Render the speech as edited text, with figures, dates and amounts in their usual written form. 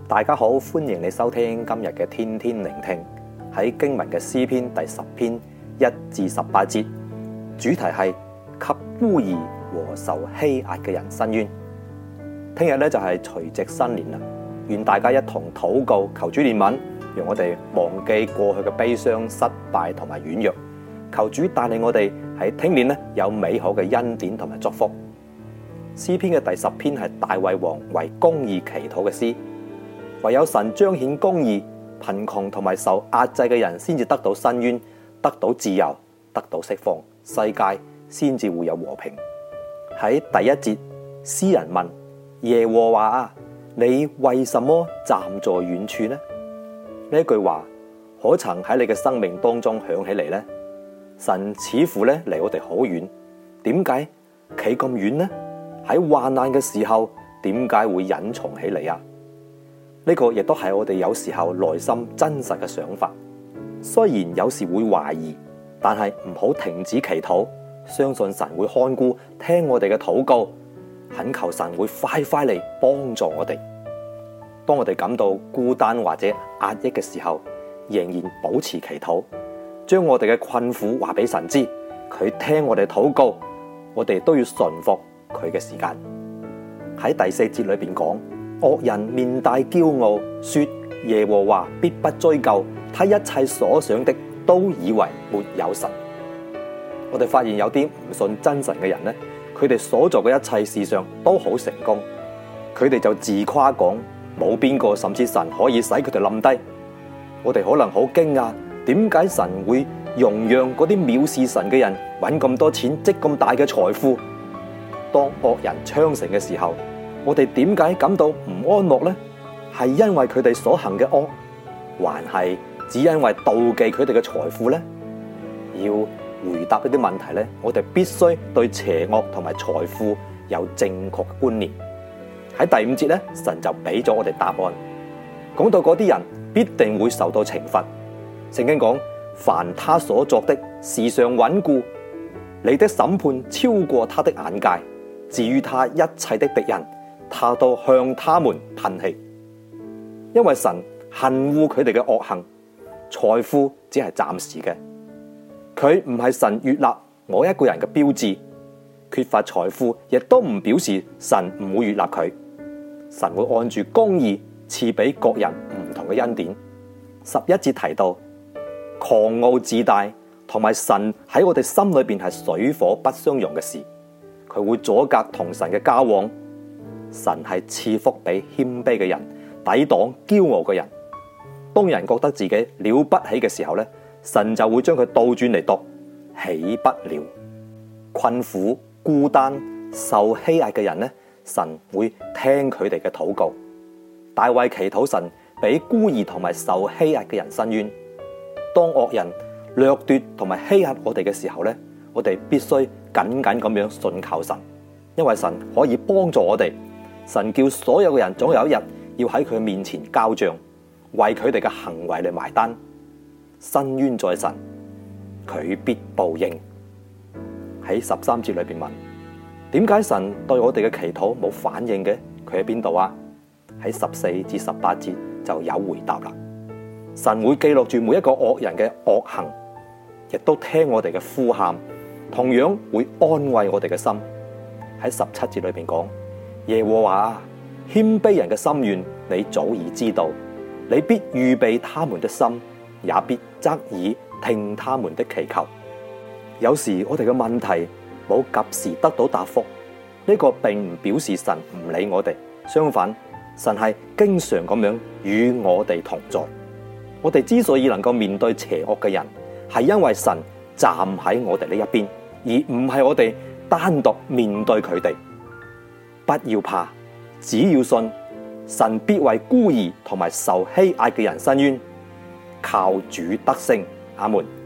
大家好，歡迎你收聽今日嘅天天聆聽。喺經文嘅詩篇第10篇1至18節，主題係給孤兒和受欺壓嘅人伸冤。聽日咧就係除夕新年啦，願大家一同禱告，求主憐憫，讓我哋忘記過去嘅悲傷、失敗同埋軟弱。求主帶領我哋喺聽年咧有美好嘅恩典同埋祝福。詩篇嘅第10篇係大衛王為公義祈禱嘅詩，唯有神彰顯公義，貧窮同埋受壓制嘅人先至得到伸冤，得到自由，得到釋放，世界先至會有和平。喺第一節，詩人問耶和華啊，你為什麼站在遠處呢？呢句話可曾喺你嘅生命當中響起嚟呢？神似乎咧離我哋好遠，點解企咁遠呢？喺患難嘅時候，點解會隱藏起嚟啊？呢個亦都係我哋有時候內心真實嘅想法。雖然有時會懷疑，但係唔好停止祈禱，相信神會看顧，聽我哋嘅禱告，懇求神會快快嚟幫助我哋。當我哋感到孤單或者壓抑嘅時候，仍然保持祈禱，將我哋嘅困苦話俾神知，佢聽我哋禱告，我哋都要順服佢嘅時間。喺第4節裏邊講，惡人面帶驕傲，說耶和華必不追究，他一切所想的都以為沒有神。我哋發現有啲唔信真神嘅人呢，佢哋所做嘅一切事上都好成功，佢哋就自誇講冇邊個甚至神可以使佢哋冧低。我哋可能好驚訝，點解神會容讓嗰啲藐視神嘅人搵咁多錢，積咁大嘅財富？當惡人昌盛嘅時候，我哋點解感到唔安樂呢？係因為佢哋所行嘅惡，還係只因為妒忌佢哋嘅財富呢？要回答呢啲問題呢，我哋必須對邪惡同埋財富有正確嘅觀念。喺第5節呢，神就俾咗我哋答案，講到嗰啲人必定會受到懲罰。聖經講，凡他所作的時常穩固，你的審判超過他的眼界。至於他一切的敵人，他都向他們噴氣。因為神恨惡佢哋嘅惡行，財富只係暫時嘅，佢唔係神悅納我一個人嘅標誌。缺乏財富亦都唔表示神唔會悅納佢，神會按住公義賜俾各人唔同嘅恩典。11節提到狂傲自大同埋神喺我哋心裏邊係水火不相容嘅事，佢會阻隔同神嘅交往。神係賜福俾謙卑嘅人，抵擋驕傲嘅人。當人覺得自己了不起嘅時候咧，神就會將佢倒轉嚟讀，起不了。困苦、孤單、受欺壓嘅人咧，神會聽佢哋嘅禱告。大衛祈禱神俾孤兒同埋受欺壓嘅人伸冤。當惡人掠奪同埋欺壓我哋嘅時候咧，我哋必須緊緊咁樣信靠神，因為神可以幫助我哋。神叫所有嘅人總有一日要喺佢面前交賬，為佢哋嘅行為嚟埋單。伸冤在神，佢必報應。喺13節裏邊問，點解神對我哋嘅祈禱冇反應嘅？佢喺邊度啊？喺14至18節就有回答啦。神會記錄住每一個惡人嘅惡行，亦都聽我哋嘅呼喊，同樣會安慰我哋嘅心。喺17節裏邊講，耶和華啊，謙卑人嘅心願你早已知道，你必預備他們的心，也必側耳聽他們的祈求。有時我哋嘅問題冇及時得到答覆，呢個並唔表示神唔理我哋，相反，神係經常咁樣與我哋同在。我哋之所以能夠面對邪惡嘅人，係因為神站喺我哋呢一邊，而唔係我哋單獨面對佢哋。不要怕，只要信，神必為孤兒同埋受欺壓嘅人伸冤，靠主得勝。阿們。